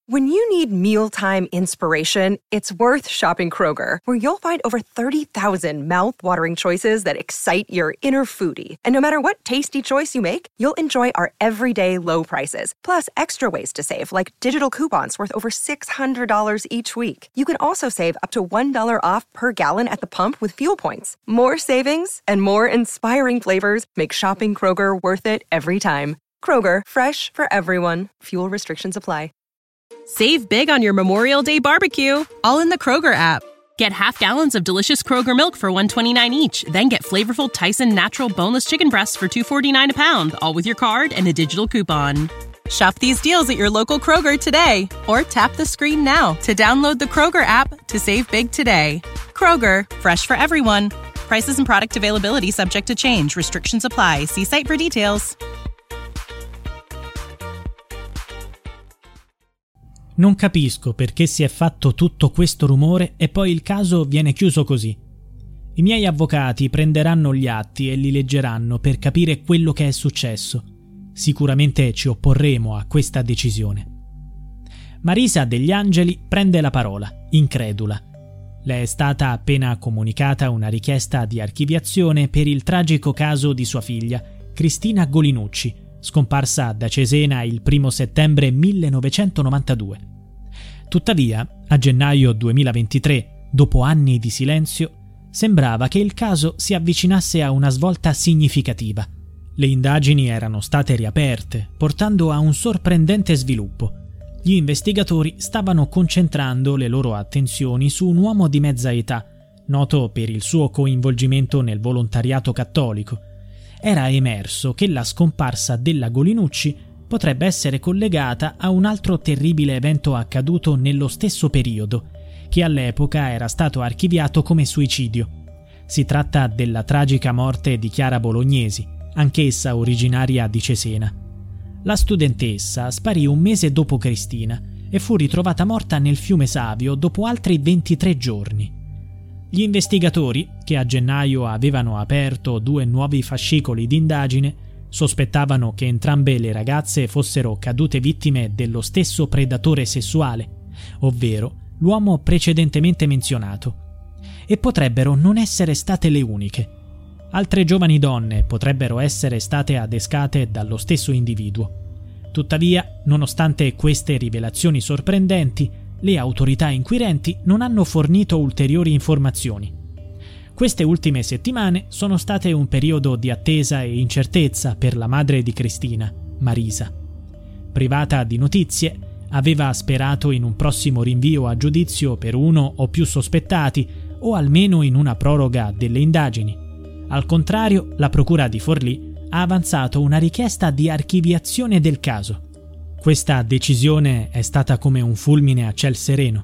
When you need mealtime inspiration, it's worth shopping Kroger, where you'll find over 30,000 mouth-watering choices that excite your inner foodie. And no matter what tasty choice you make, you'll enjoy our everyday low prices, plus extra ways to save, like digital coupons worth over $600 each week. You can also save up to $1 off per gallon at the pump with fuel points. More savings and more inspiring flavors make shopping Kroger worth it every time. Kroger, fresh for everyone. Fuel restrictions apply. Save big on your Memorial Day barbecue, all in the Kroger app. Get half gallons of delicious Kroger milk for $1.29 each. Then get flavorful Tyson natural boneless chicken breasts for $2.49 a pound, all with your card and a digital coupon. Shop these deals at your local Kroger today, or tap the screen now to download the Kroger app to save big today. Kroger, fresh for everyone. Prices and product availability subject to change. Restrictions apply. See site for details. Non capisco perché si è fatto tutto questo rumore e poi il caso viene chiuso così. I miei avvocati prenderanno gli atti e li leggeranno per capire quello che è successo. Sicuramente ci opporremo a questa decisione. Marisa Degli Angeli prende la parola, incredula. Le è stata appena comunicata una richiesta di archiviazione per il tragico caso di sua figlia, Cristina Golinucci, scomparsa da Cesena il 1 settembre 1992. Tuttavia, a gennaio 2023, dopo anni di silenzio, sembrava che il caso si avvicinasse a una svolta significativa. Le indagini erano state riaperte, portando a un sorprendente sviluppo. Gli investigatori stavano concentrando le loro attenzioni su un uomo di mezza età, noto per il suo coinvolgimento nel volontariato cattolico. Era emerso che la scomparsa della Golinucci potrebbe essere collegata a un altro terribile evento accaduto nello stesso periodo, che all'epoca era stato archiviato come suicidio. Si tratta della tragica morte di Chiara Bolognesi, anch'essa originaria di Cesena. La studentessa sparì un mese dopo Cristina e fu ritrovata morta nel fiume Savio dopo altri 23 giorni. Gli investigatori, che a gennaio avevano aperto 2 nuovi fascicoli di indagine, sospettavano che entrambe le ragazze fossero cadute vittime dello stesso predatore sessuale, ovvero l'uomo precedentemente menzionato, e potrebbero non essere state le uniche. Altre giovani donne potrebbero essere state adescate dallo stesso individuo. Tuttavia, nonostante queste rivelazioni sorprendenti, le autorità inquirenti non hanno fornito ulteriori informazioni. Queste ultime settimane sono state un periodo di attesa e incertezza per la madre di Cristina, Marisa. Privata di notizie, aveva sperato in un prossimo rinvio a giudizio per uno o più sospettati o almeno in una proroga delle indagini. Al contrario, la Procura di Forlì ha avanzato una richiesta di archiviazione del caso. Questa decisione è stata come un fulmine a ciel sereno.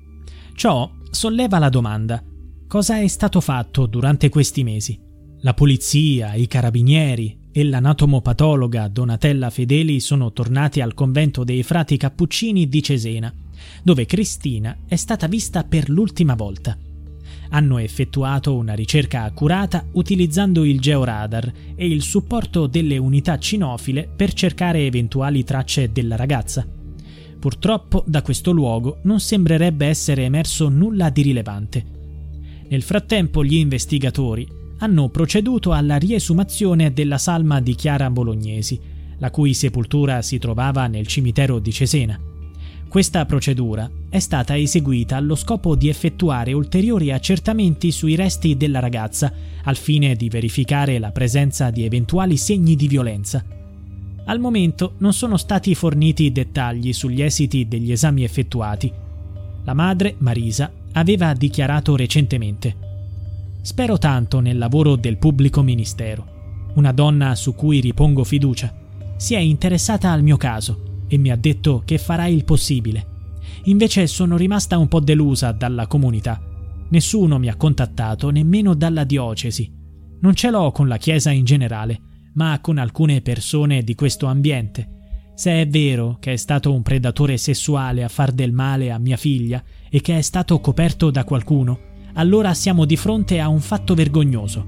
Ciò solleva la domanda: cosa è stato fatto durante questi mesi? La polizia, i carabinieri e l'anatomopatologa Donatella Fedeli sono tornati al convento dei frati Cappuccini di Cesena, dove Cristina è stata vista per l'ultima volta. Hanno effettuato una ricerca accurata utilizzando il georadar e il supporto delle unità cinofile per cercare eventuali tracce della ragazza. Purtroppo da questo luogo non sembrerebbe essere emerso nulla di rilevante. Nel frattempo gli investigatori hanno proceduto alla riesumazione della salma di Chiara Bolognesi, la cui sepoltura si trovava nel cimitero di Cesena. Questa procedura è stata eseguita allo scopo di effettuare ulteriori accertamenti sui resti della ragazza, al fine di verificare la presenza di eventuali segni di violenza. Al momento non sono stati forniti dettagli sugli esiti degli esami effettuati. La madre, Marisa, aveva dichiarato recentemente: «Spero tanto nel lavoro del pubblico ministero. Una donna su cui ripongo fiducia. Si è interessata al mio caso e mi ha detto che farà il possibile. Invece sono rimasta un po' delusa dalla comunità. Nessuno mi ha contattato, nemmeno dalla diocesi. Non ce l'ho con la Chiesa in generale, ma con alcune persone di questo ambiente. Se è vero che è stato un predatore sessuale a far del male a mia figlia e che è stato coperto da qualcuno, allora siamo di fronte a un fatto vergognoso».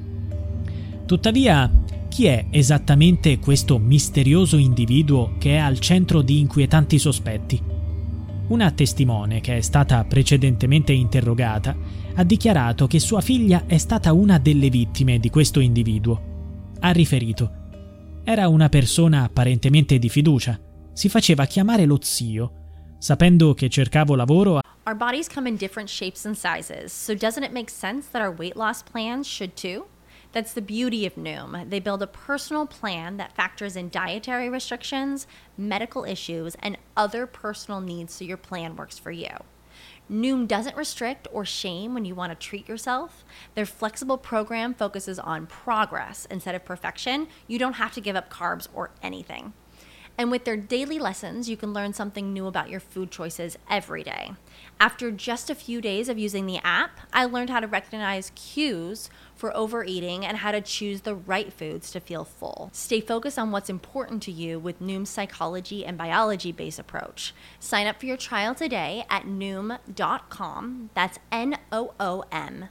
Tuttavia, chi è esattamente questo misterioso individuo che è al centro di inquietanti sospetti? Una testimone, che è stata precedentemente interrogata, ha dichiarato che sua figlia è stata una delle vittime di questo individuo. Ha riferito: era una persona apparentemente di fiducia, si faceva chiamare lo zio, sapendo che cercavo lavoro. Our bodies come in different shapes and sizes, so doesn't it make sense that our weight loss plans should too? That's the beauty of Noom. They build a personal plan that factors in dietary restrictions, medical issues, and other personal needs so your plan works for you. Noom doesn't restrict or shame when you want to treat yourself. Their flexible program focuses on progress instead of perfection. You don't have to give up carbs or anything. And with their daily lessons, you can learn something new about your food choices every day. After just a few days of using the app, I learned how to recognize cues for overeating and how to choose the right foods to feel full. Stay focused on what's important to you with Noom's psychology and biology-based approach. Sign up for your trial today at Noom.com. That's Noom.com.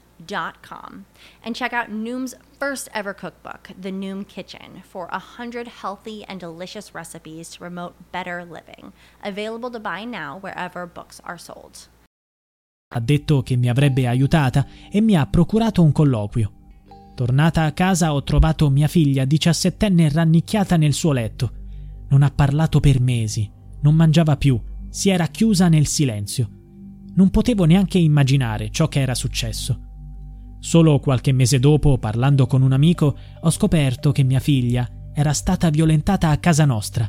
And check out Noom's first ever cookbook, The Noom Kitchen, for 100 healthy and delicious recipes to promote better living. Available to buy now wherever books are sold. Ha detto che mi avrebbe aiutata e mi ha procurato un colloquio. Tornata a casa ho trovato mia figlia 17enne rannicchiata nel suo letto. Non ha parlato per mesi, non mangiava più, si era chiusa nel silenzio. Non potevo neanche immaginare ciò che era successo. Solo qualche mese dopo, parlando con un amico, ho scoperto che mia figlia era stata violentata a casa nostra.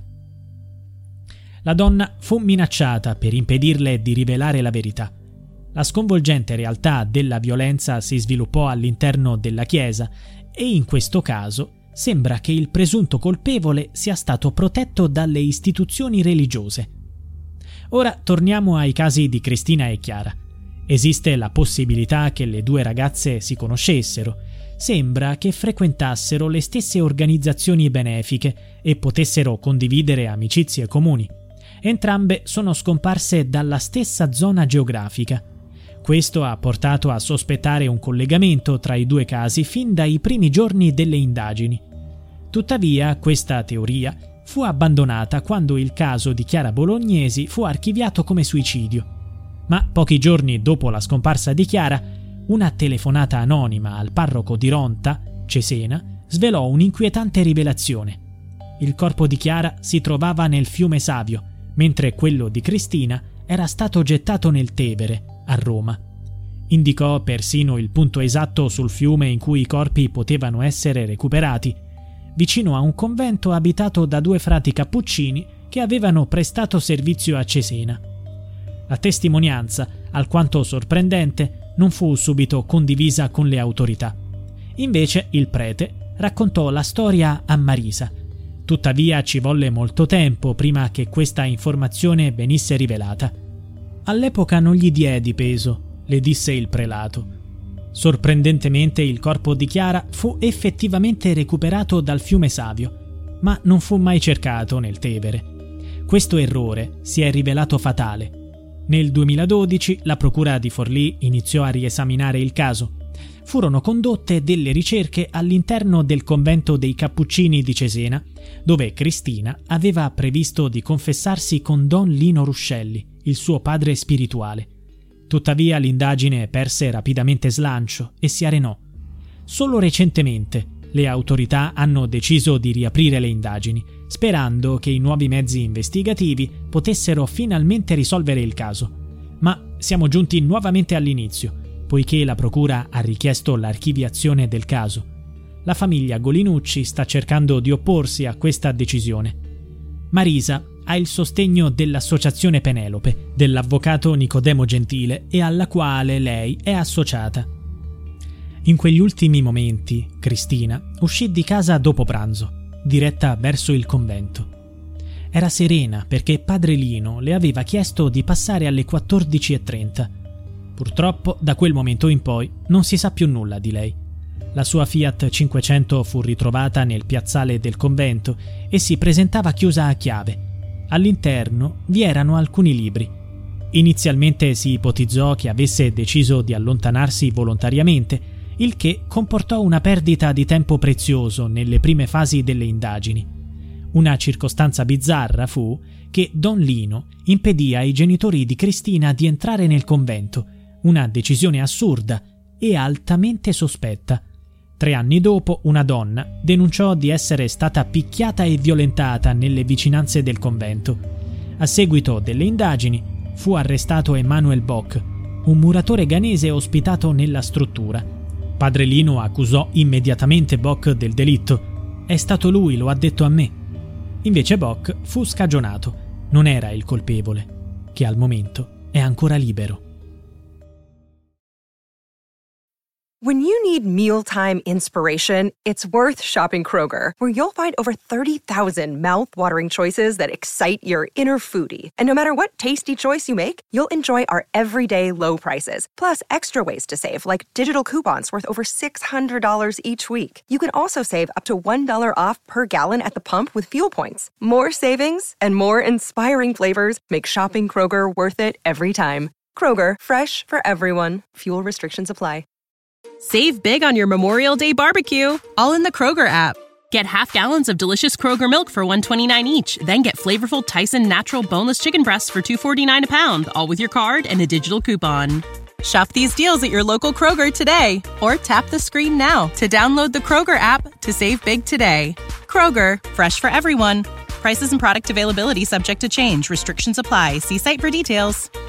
La donna fu minacciata per impedirle di rivelare la verità. La sconvolgente realtà della violenza si sviluppò all'interno della chiesa e in questo caso sembra che il presunto colpevole sia stato protetto dalle istituzioni religiose. Ora torniamo ai casi di Cristina e Chiara. Esiste la possibilità che le due ragazze si conoscessero. Sembra che frequentassero le stesse organizzazioni benefiche e potessero condividere amicizie comuni. Entrambe sono scomparse dalla stessa zona geografica. Questo ha portato a sospettare un collegamento tra i due casi fin dai primi giorni delle indagini. Tuttavia, questa teoria fu abbandonata quando il caso di Chiara Bolognesi fu archiviato come suicidio. Ma pochi giorni dopo la scomparsa di Chiara, una telefonata anonima al parroco di Ronta, Cesena, svelò un'inquietante rivelazione. Il corpo di Chiara si trovava nel fiume Savio, mentre quello di Cristina era stato gettato nel Tevere, a Roma. Indicò persino il punto esatto sul fiume in cui i corpi potevano essere recuperati, vicino a un convento abitato da due frati cappuccini che avevano prestato servizio a Cesena. La testimonianza, alquanto sorprendente, non fu subito condivisa con le autorità. Invece il prete raccontò la storia a Marisa. Tuttavia ci volle molto tempo prima che questa informazione venisse rivelata. All'epoca non gli diedi peso, le disse il prelato. Sorprendentemente il corpo di Chiara fu effettivamente recuperato dal fiume Savio, ma non fu mai cercato nel Tevere. Questo errore si è rivelato fatale. Nel 2012 la procura di Forlì iniziò a riesaminare il caso. Furono condotte delle ricerche all'interno del convento dei Cappuccini di Cesena, dove Cristina aveva previsto di confessarsi con Don Lino Ruscelli, il suo padre spirituale. Tuttavia l'indagine perse rapidamente slancio e si arenò. Solo recentemente le autorità hanno deciso di riaprire le indagini, sperando che i nuovi mezzi investigativi potessero finalmente risolvere il caso. Ma siamo giunti nuovamente all'inizio, poiché la procura ha richiesto l'archiviazione del caso. La famiglia Golinucci sta cercando di opporsi a questa decisione. Marisa ha il sostegno dell'Associazione Penelope, dell'avvocato Nicodemo Gentile e alla quale lei è associata. In quegli ultimi momenti, Cristina uscì di casa dopo pranzo, diretta verso il convento. Era serena perché padre Lino le aveva chiesto di passare alle 14:30. Purtroppo, da quel momento in poi, non si sa più nulla di lei. La sua Fiat 500 fu ritrovata nel piazzale del convento e si presentava chiusa a chiave. All'interno vi erano alcuni libri. Inizialmente si ipotizzò che avesse deciso di allontanarsi volontariamente, il che comportò una perdita di tempo prezioso nelle prime fasi delle indagini. Una circostanza bizzarra fu che Don Lino impedì ai genitori di Cristina di entrare nel convento, una decisione assurda e altamente sospetta. 3 anni dopo, una donna denunciò di essere stata picchiata e violentata nelle vicinanze del convento. A seguito delle indagini, fu arrestato Emanuel Bock, un muratore ghanese ospitato nella struttura. Padre Lino accusò immediatamente Bock del delitto. «È stato lui, lo ha detto a me». Invece Bock fu scagionato. Non era il colpevole, che al momento è ancora libero. When you need mealtime inspiration, it's worth shopping Kroger, where you'll find over 30,000 mouth-watering choices that excite your inner foodie. And no matter what tasty choice you make, you'll enjoy our everyday low prices, plus extra ways to save, like digital coupons worth over $600 each week. You can also save up to $1 off per gallon at the pump with fuel points. More savings and more inspiring flavors make shopping Kroger worth it every time. Kroger, fresh for everyone. Fuel restrictions apply. Save big on your Memorial Day barbecue, all in the Kroger app. Get half gallons of delicious Kroger milk for $1.29 each. Then get flavorful Tyson natural boneless chicken breasts for $2.49 a pound, all with your card and a digital coupon. Shop these deals at your local Kroger today, or tap the screen now to download the Kroger app to save big today. Kroger, fresh for everyone. Prices and product availability subject to change. Restrictions apply. See site for details.